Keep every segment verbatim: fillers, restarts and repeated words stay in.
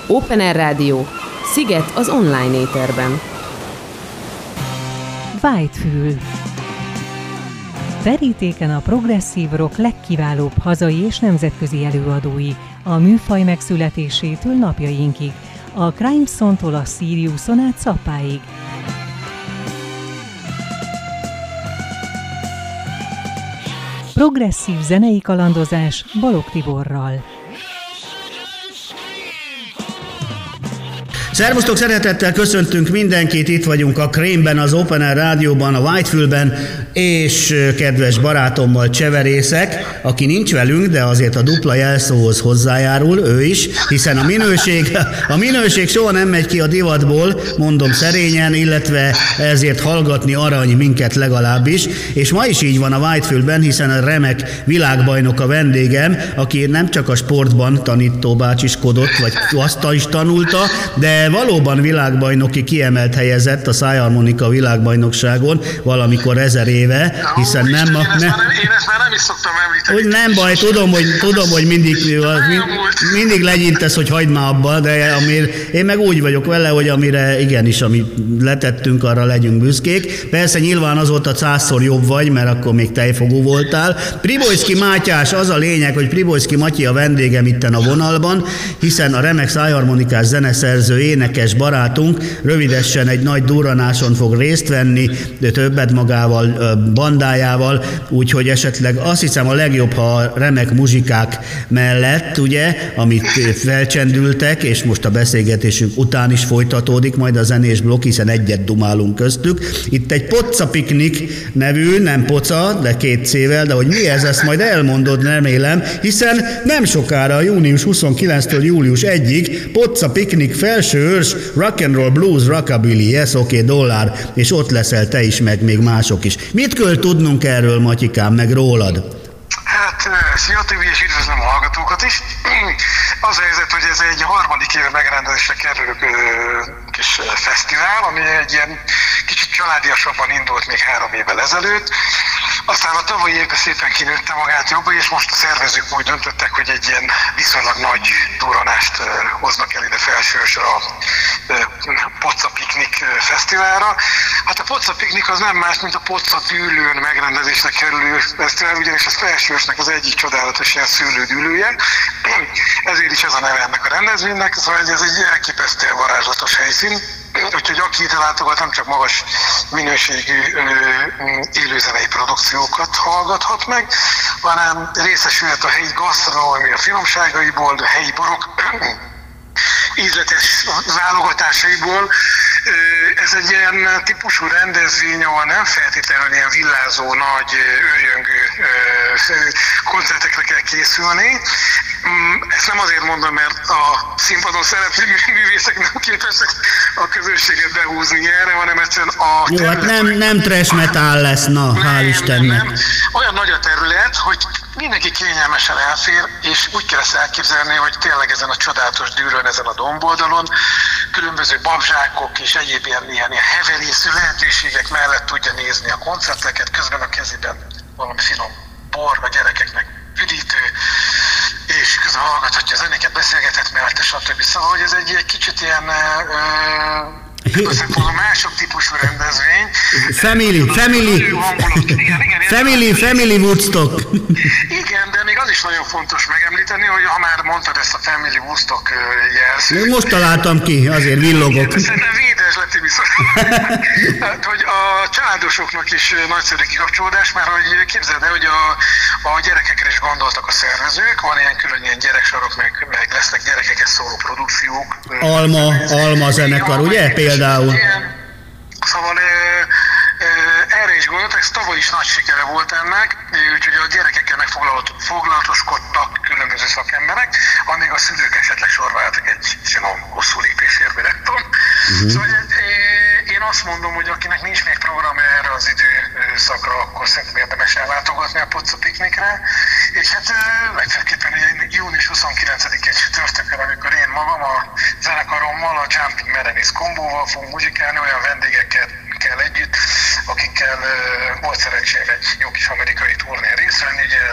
Open Air Rádió, Sziget az online éterben. Whitefül. Verítéken a progresszív rock legkiválóbb hazai és nemzetközi előadói, a műfaj megszületésétől napjainkig, a Crimeson-tól a Siriuson át Zappáig. Progresszív zenei kalandozás Balogh Tiborral. Szervusztok, szeretettel köszöntünk mindenkit, itt vagyunk a Krémben, az Open Air Rádióban, a Whitefülben, és kedves barátommal Cseverészek, aki nincs velünk, de azért a dupla jelszóhoz hozzájárul, ő is, hiszen a minőség, a minőség soha nem megy ki a divatból, mondom szerényen, illetve ezért hallgatni arany minket legalábbis, és ma is így van a Whitefülben, hiszen a remek világbajnok a vendégem, aki nem csak a sportban tanítóbácsiskodott, vagy azt is tanulta, de valóban világbajnoki kiemelt helyezett a szájharmonika világbajnokságon valamikor ezer éve, hiszen Ó, nem... Isten, A, én, ezt nem már nem én ezt már nem is szoktam említeni. úgy nem baj, tudom, hogy, tudom, hogy mindig, mindig legyintesz, hogy hagyd már abba, de amire, én meg úgy vagyok vele, hogy amire igenis, amit letettünk, arra legyünk büszkék. Persze nyilván az volt a százszor jobb vagy, mert akkor még tejfogó voltál. Pribojszky Mátyás, az a lényeg, hogy Pribojszky Matyi a vendégem itten a vonalban, hiszen a remek szájharmonikás zeneszerző, énekes barátunk rövidesen egy nagy durranáson fog részt venni, de többet magával, bandájával, úgyhogy esetleg azt hiszem a legjobb, ha a remek muzsikák mellett, ugye, amit felcsendültek, és most a beszélgetésünk után is folytatódik majd a zenés blokk, hiszen egyet dumálunk köztük. Itt egy Poca Piknik nevű, nem Poca, de két C-vel, de hogy mi ez, ezt majd elmondod, remélem, hiszen nem sokára, június huszonkilencedikétől július elsejéig Poca Piknik felső őrs, rock and roll, blues, rockabilly, yes, oké, okay, dollár, és ott leszel te is, meg még mások is. Mit kell tudnunk erről, Matyikám, meg rólad? Hát, szia Tibi, és üdvözlöm a hallgatókat is. Az a helyzet, hogy ez egy harmadik éve megrendezésre kerülő kis fesztivál, ami egy ilyen kicsit családiasabban indult még három évvel ezelőtt. Aztán a tavalyi évben szépen kinőtte magát jobban, és most a szervezők úgy döntöttek, hogy egy ilyen viszonylag nagy durranást hoznak el ide felsősre a Poca Piknik fesztiválra. Hát a Poca Piknik az nem más, mint a Poca dűlőn megrendezésre kerülő fesztivál, ugyanis ez felsősnek az egyik csodálatos ilyen szőlődűlője. Ezért is ez a neve ennek a rendezvénynek, szóval ez egy elképesztően varázslatos helyszín. Úgyhogy aki ide látogat, nem csak magas minőségű élőzenei produkciókat hallgathat meg, hanem részesülhet a helyi gasztronómia finomságaiból, a helyi borok ízletes válogatásaiból. Ez egy ilyen típusú rendezvény, ahol nem feltétlenül ilyen villázó, nagy, őrjöngő koncertekre kell készülni. Ezt nem azért mondom, mert a színpadon szereplő művészek nem képesek a közönséget behúzni erre, hanem egyszerűen a Jó, hát nem, nem trash metal lesz, na, nem, hál' Istennek. Nem, nem. Olyan nagy a terület, hogy mindenki kényelmesen elfér, és úgy kell ezt elképzelni, hogy tényleg ezen a csodálatos dűrön, ezen a domboldalon különböző babzsákok és egyéb ilyen, ilyen, ilyen heverésző lehetőségek mellett tudja nézni a koncerteket, közben a kezében valami finom bor a gyerekeknek üdítő, és közben hallgathatja a zenéket, beszélgethet mellette, stb. Szóval, hogy ez egy, egy kicsit ilyen a mások típusú rendezvény. Family, family, igen, igen, family, family Woodstock. Igen, de még az is nagyon fontos megemlíteni, hogy ha már mondtad ezt a Family Woodstock jelszót. Most találtam ki, azért villogok. Szerintem védes lett, hát, hogy a családosoknak is nagyszerű kikapcsolódás, mert hogy képzeld el, hogy a, a gyerekekre is gondoltak a szervezők, van ilyen külön ilyen gyereksarok, meg, meg lesznek gyerekeket szóló produkciók. Alma, alma zenekar, ugye? Például. Szóval erre is gondoltak, ez tavaly is nagy sikere volt ennek, úgyhogy a gyerekekkel megfoglalatoskodtak különböző szakemberek, amíg a szülők esetleg sorváltak egy finom hosszú lépésérbe, nem tudom. Uh-huh. Szóval én azt mondom, hogy akinek nincs még programja erre az időszakra, akkor szerintem érdemes ellátogatni a Poca Piknikre, és hát legfőképpen június huszonkilencedikén csütörtökön, amikor én magam a zenekarommal, a Jumping Merenis kombóval fogunk muzsikálni, olyan vendégekkel együtt, akikkel uh, volt szerencsém egy jó kis amerikai turnén részt venni, ugye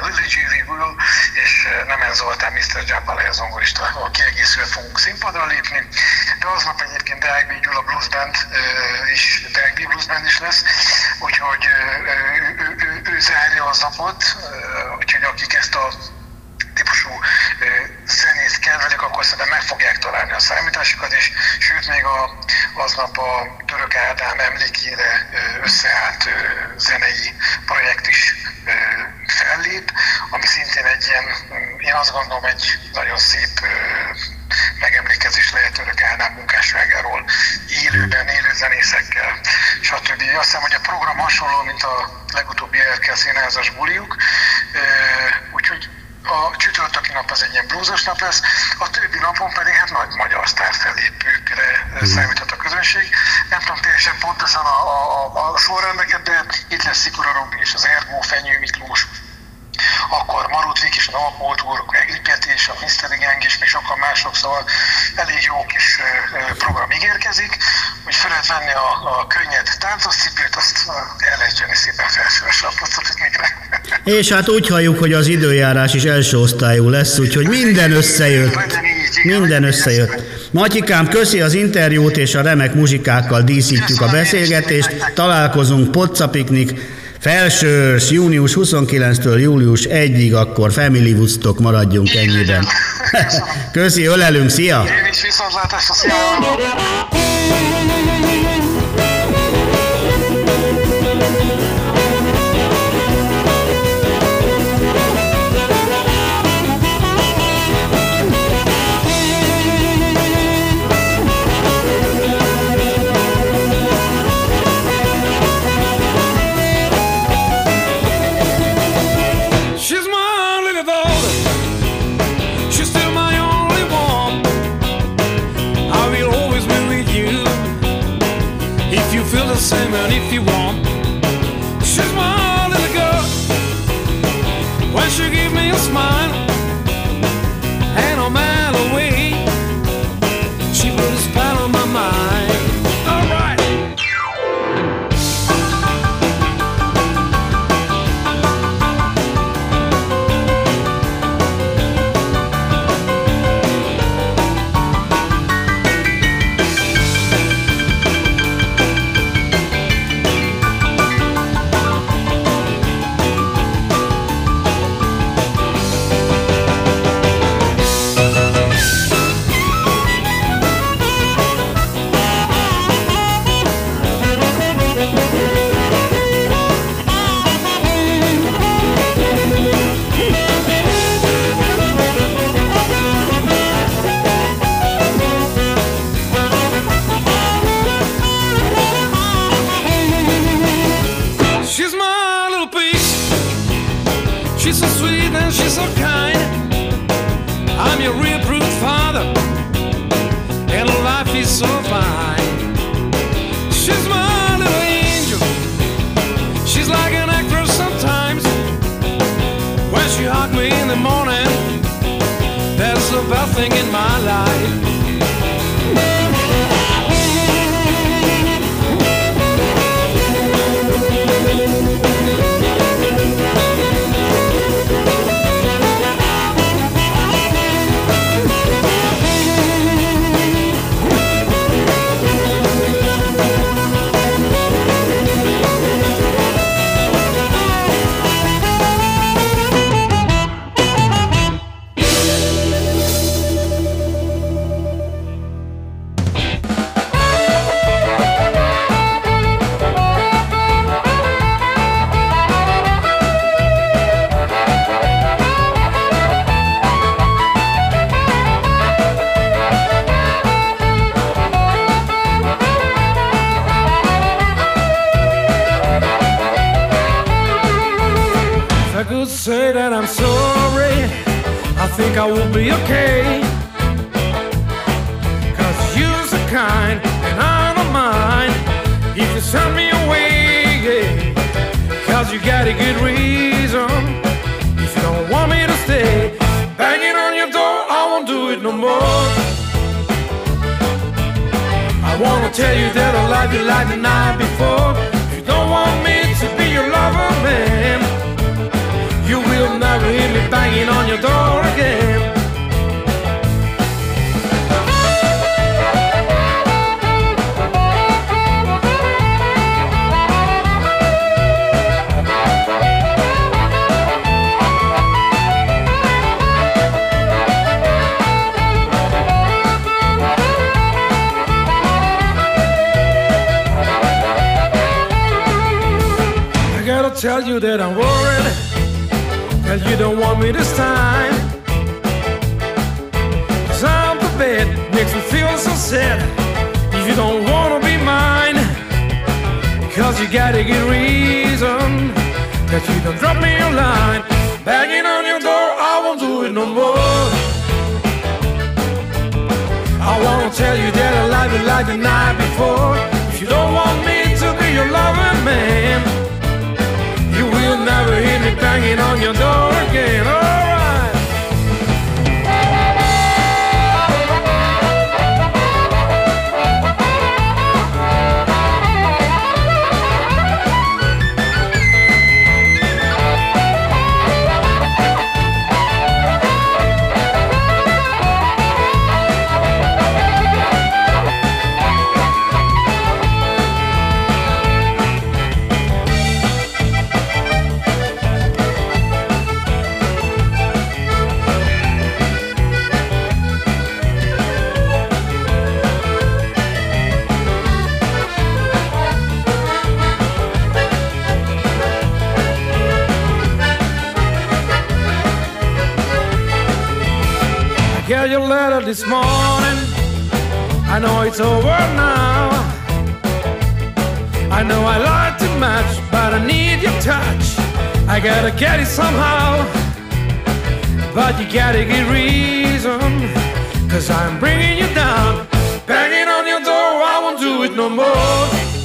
Lily G. Will és Nemen Zoltán, miszter Giappalai a zongorista, a kiegészülően fogunk színpadra lépni. De aznap egyébként Deák B. Gyula Blues Band és Deák B. Blues Band is lesz, úgyhogy ő, ő, ő, ő zárja az napot, úgyhogy akik ezt a típusú zenét kedvelik, akkor szerintem meg fogják találni a számításukat, és sőt még a, aznap a Török Ádám emlékére összeállt zenei projekt is fellép, ami szintén egy ilyen, én azt gondolom, egy nagyon szép megemlékezés lehet Török Ádám munkásságáról, élőben, élő zenészekkel, stb. Azt hiszem, hogy a program hasonló, mint a legutóbbi er ká színházas buliuk, úgyhogy a csütörtöki nap az egy ilyen bluesos nap lesz, a többi napon pedig hát nagy magyar sztárfellépőkre számíthat a közönség. Nem tudom teljesen pontosan a, a, a, a sorrendeket, de itt lesz Szikora Robi és az Ergó, Fenyő Miklós, akkor Marut Vik és a Alapmódúr, Egri Peti és a miszteri Gang és még sokan mások, szóval elég jó kis program ígérkezik, hogy fel lehet venni a, a könnyed táncos cipőt, azt el lehet jönni szépen felsőre a Podsapitnikre. És hát úgy halljuk, hogy az időjárás is első osztályú lesz, úgyhogy minden összejött. Minden összejött. Matyikám, köszi az interjút, és a remek muzsikákkal díszítjük a beszélgetést. Találkozunk Podsapiknik. Felsőrs, június huszonkilencedikétől július elsejéig, akkor Family Woodstock, maradjunk ennyiben. Köszi, ölelünk, szia! Én is viszontlátásra, szia! Same and if you want, she's my little girl. When she give me a smile and a mile away, she put a spell on my mind. All right. She's so sweet and she's so kind. I'm your real approved father, and life is so fine. She's my little angel. She's like an actress sometimes. When she hugged me in the morning, that's the best thing in my life. Say that I'm sorry, I think I will be okay. Cause you're so kind and I don't mind if you send me away, yeah. Cause you got a good reason if you don't want me to stay. Banging on your door, I won't do it no more. I wanna tell you that I love you like the night before. If you don't want me to be your lover, man, you will never hear me banging on your door again. Tell you that I'm worried, that you don't want me this time. Cause I'm the bed, makes me feel so sad. If you don't wanna be mine, cause you gotta get reason that you don't drop me a line. Banging on your door, I won't do it no more. I wanna tell you that I love you like the night before. If you don't want me to be your loving man, you'll never hear me banging on your door again. All right. Got your letter this morning, I know it's over now. I know I like too much, but I need your touch. I gotta get it somehow, but you gotta get reason, cause I'm bringing you down. Banging on your door, I won't do it no more.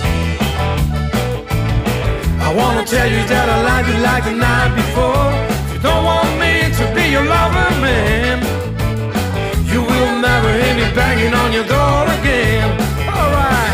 I wanna tell you that I like you like the night before. If you don't want me to be your lover, man, you will never hear me banging on your door again. All right.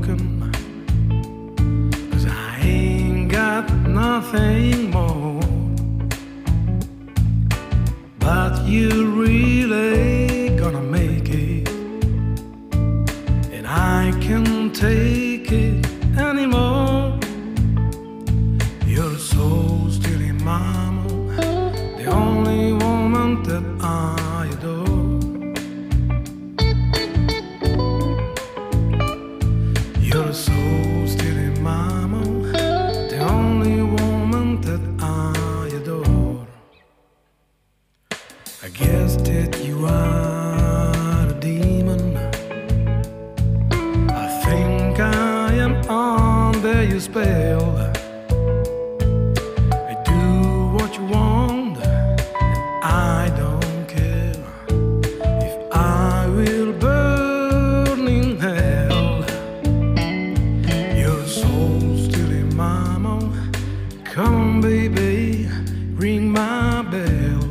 broken, 'cause I ain't got nothing more. But you really gonna make it, and I can't take it anymore. You're so stealing, mama, the only woman that I adore. You're so stealing, mama, the only woman that I adore. I guess that you are a demon. I think I am under your spell. I do what you want, and I don't care if I will burn in hell. You're so stealing, mama. Come on, baby, ring my bell.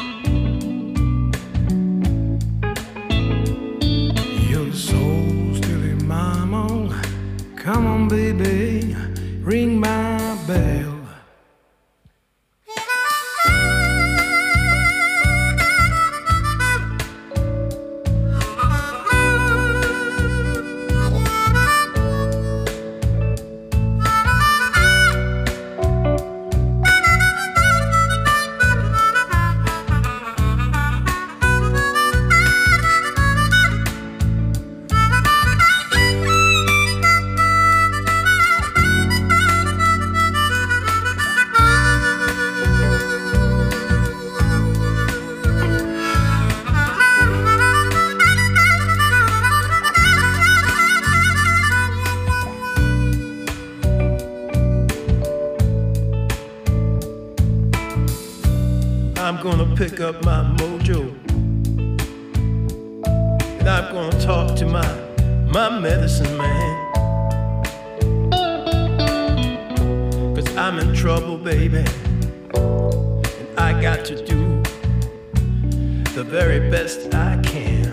Come on, baby, ring my bell. I'm gonna pick up my mojo, and I'm gonna talk to my, my medicine man. 'Cause I'm in trouble, baby, and I got to do the very best I can.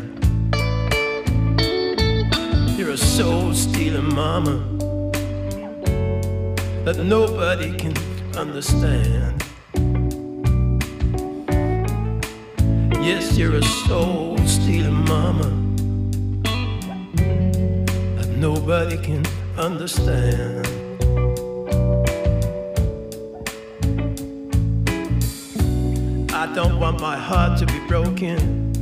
You're a soul-stealing mama that nobody can understand. Yes, you're a soul-stealing mama that nobody can understand. I don't want my heart to be broken,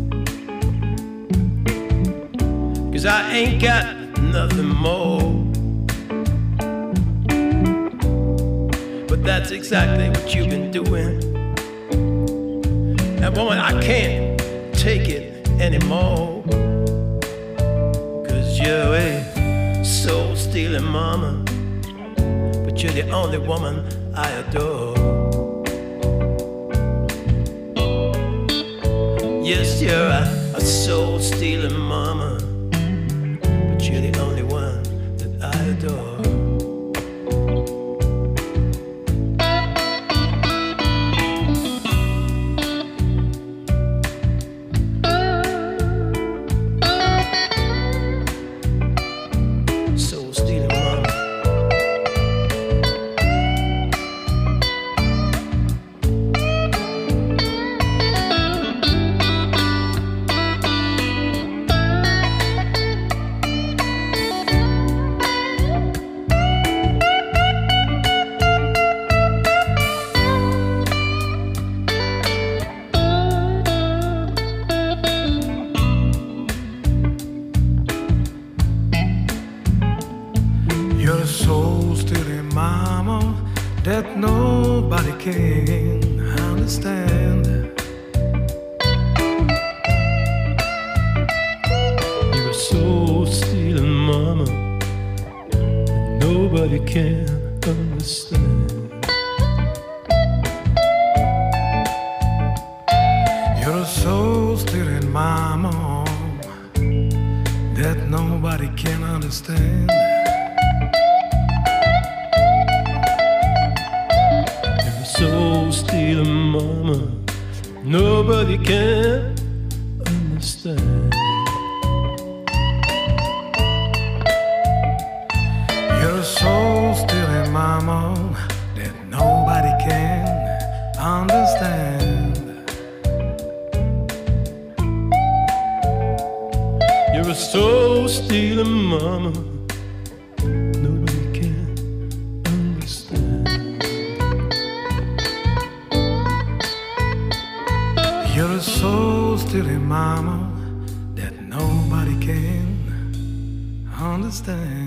'cause I ain't got nothing more. But that's exactly what you've been doing. And woman, I can't take it anymore, 'cause you're a soul-stealing mama, but you're the only woman I adore. Yes, you're a, a soul-stealing mama, but you're the only one that I adore. You're a soul-stealing mama that nobody can understand. You're a soul-stealing mama that nobody can understand. You're a soul-stealing mama that nobody can understand. Soul-stealing mama, nobody can understand. You're a soul stealing mama that nobody can understand. You're a soul stealing mama nobody can understand. You're a soul stealing mama that nobody can understand.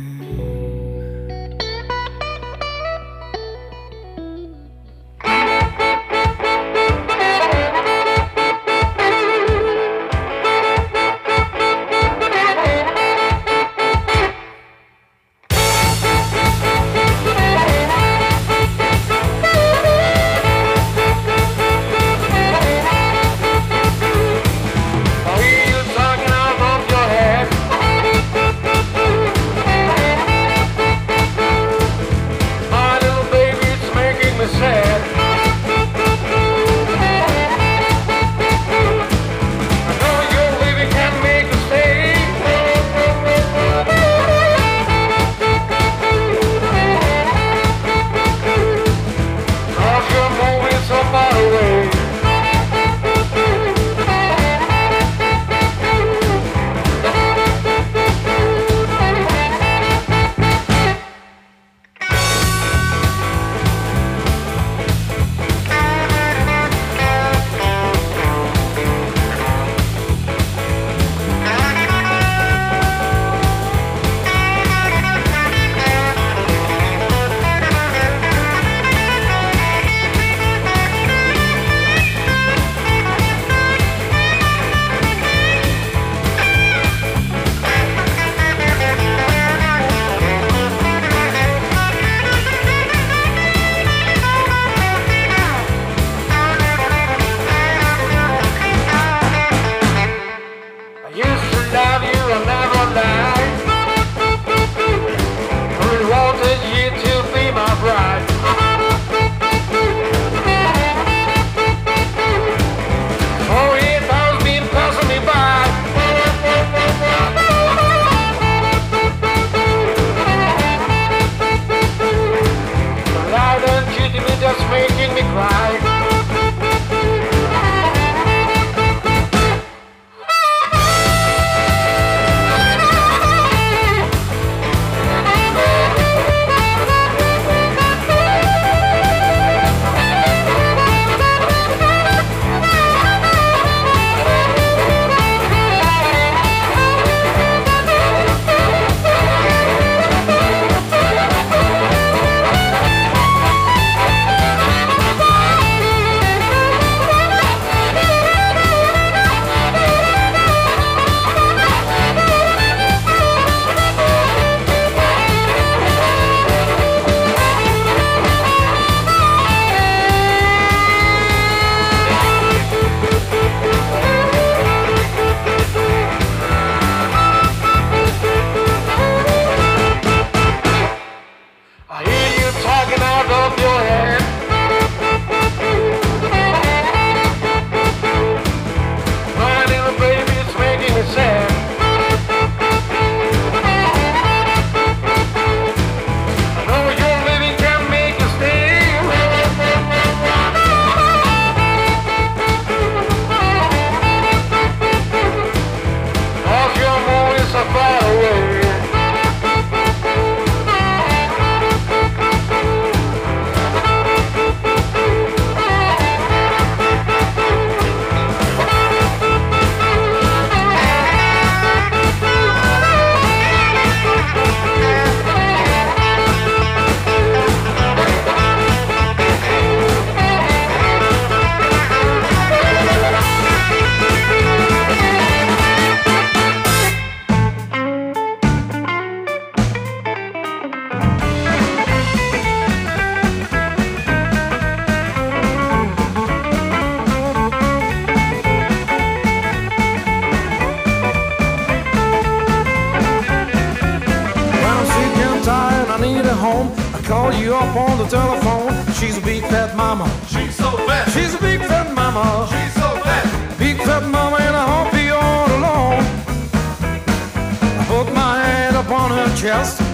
call you up on the telephone. She's a big fat mama. She's so fat. She's a big fat mama. She's so fat. Big fat mama, and I hope you're all alone. I put my hand upon her chest.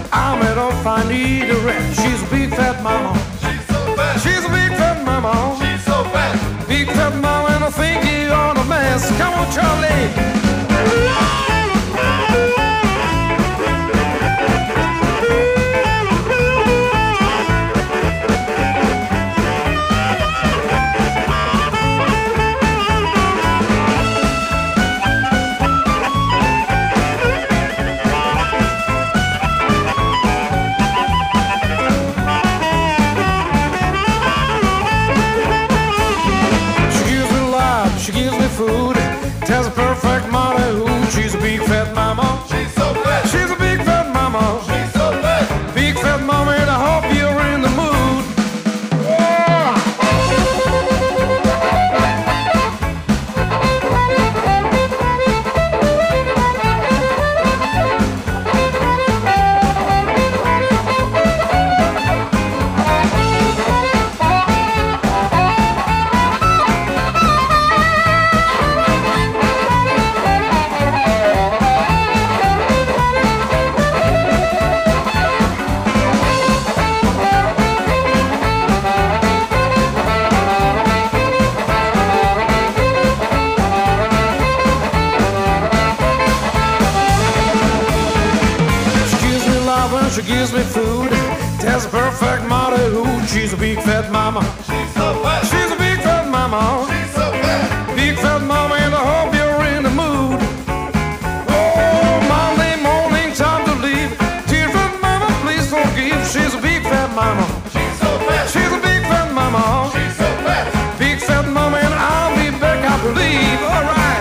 I'm at all I need a rest. She's a big fat mama. She's so fat. She's a big fat mama. She's so fat. Big fat mama, and I think you're on a mess. Come on, Charlie. Food, tells a perfect mama who she's a big fat mama. She's so fat. She's a big fat mama. She's so fat. Big fat mama, and I hope you're in the mood. Oh. She gives me food, tells a perfect mother who she's a big fat mama. She's so fat. She's a big fat mama. She's so fat. Big fat mama, and I hope you're in the mood. Oh, Monday morning, time to leave. Dear fat mama, please forgive. She's a big fat mama. She's so fat. She's a big fat mama. She's so fat. Big fat mama, and I'll be back, I believe. All right.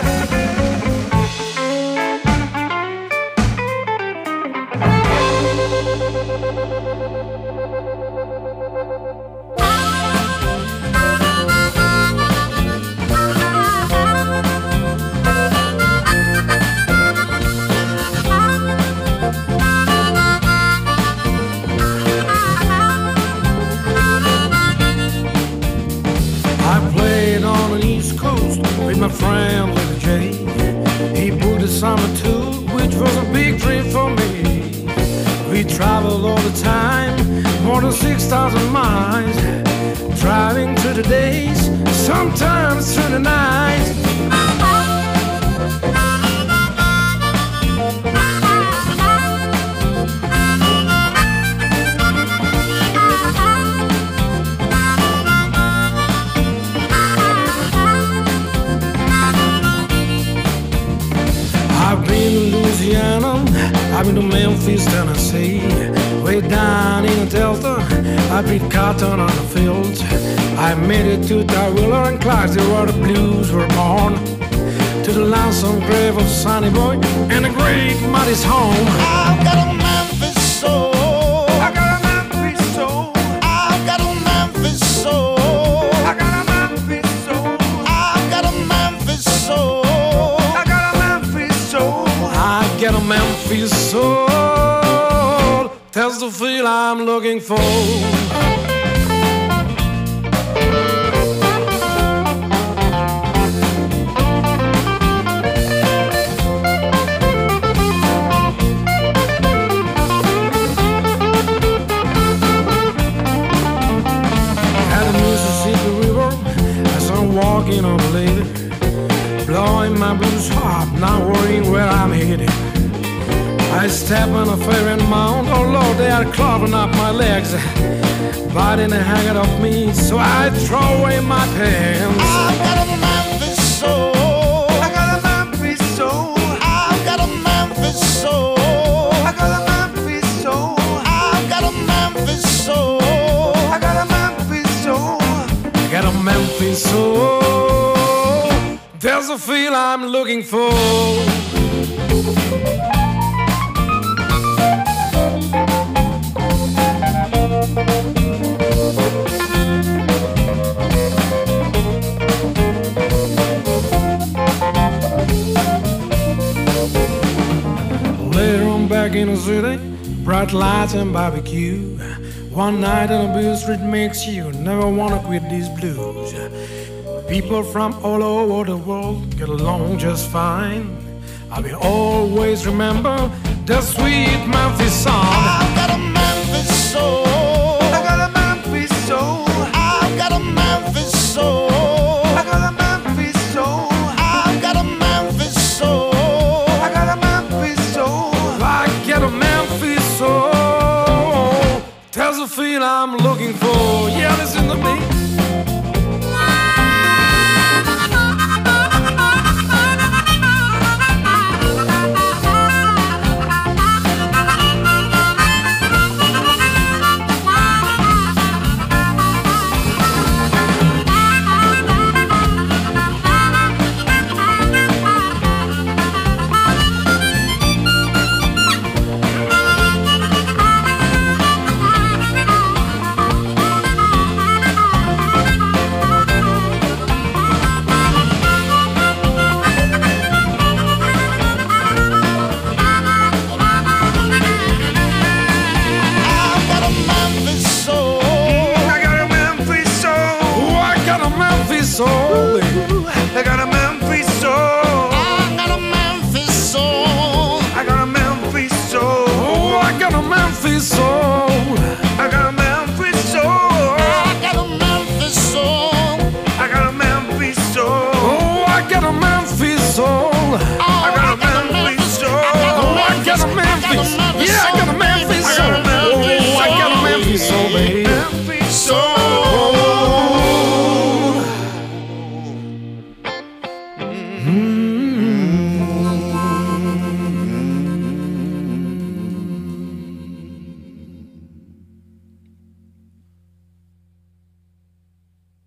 My friend Little J, he booked a summer tour, which was a big dream for me. We traveled all the time, more than six thousand miles, driving through the days, sometimes through the nights. I've been to Louisiana, I've been to Memphis, Tennessee, way down in the Delta, I beat cotton on the fields. I made it to Tyrwiller and Clarksville where the blues were born, to the lonesome grave of Sonny Boy and the great Muddy's home. I've got a Memphis soul. I got a Memphis soul. I've got a Memphis soul. I got a Memphis soul. I've got a Memphis soul. I got a Memphis soul. I get a Memphis soul. That's the feel I'm looking for. Walking on the lady, blowing my blues hot, not worrying where I'm headed. I step on a fairy mound, oh Lord, they are clogging up my legs, biting the hang of me, so I throw away my pants. I've got a Memphis soul. I got a Memphis soul. I've got a Memphis soul. I got a Memphis soul. I've got a Memphis soul. I got a Memphis soul. I got a Memphis soul. There's a feel I'm looking for. Later on back in the city, bright lights and barbecue. One night on a Beale Street makes you never wanna quit these blues. People from all over the world get along just fine. I will always remember the sweet Memphis song. I've got a Memphis soul. I got a Memphis soul. I've got a Memphis soul. I got a Memphis soul. I've got a Memphis soul. I got a Memphis soul. I get a Memphis soul. Tells the feel I'm looking for. Yeah, listen to me.